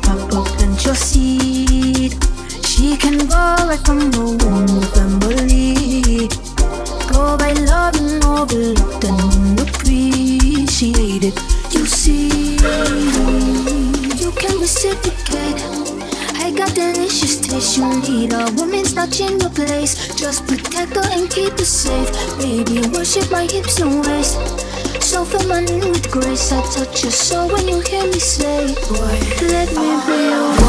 pop up, plant your seed. She can go right from the womb to family. Go by loving, overlooked and appreciated. You see, you can reciprocate. I got delicious taste. You need a woman's not in your place. Just protect her and keep her safe. Baby, worship my hips and waist. So feminine with grace. I touch your soul when you hear me say, boy, let me be your